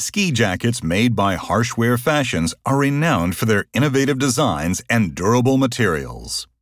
Ski jackets made by Harshwear Fashions are renowned for their innovative designs and durable materials.